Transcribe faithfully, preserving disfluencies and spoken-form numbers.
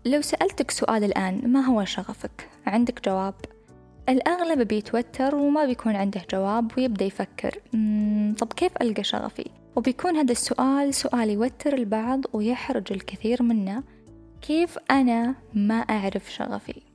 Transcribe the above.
لو سألتك سؤال الآن، ما هو شغفك؟ عندك جواب؟ الأغلب بيتوتر وما بيكون عنده جواب ويبدأ يفكر طب كيف ألقى شغفي؟ وبيكون هذا السؤال سؤال يوتر البعض ويحرج الكثير منا. كيف أنا ما أعرف شغفي؟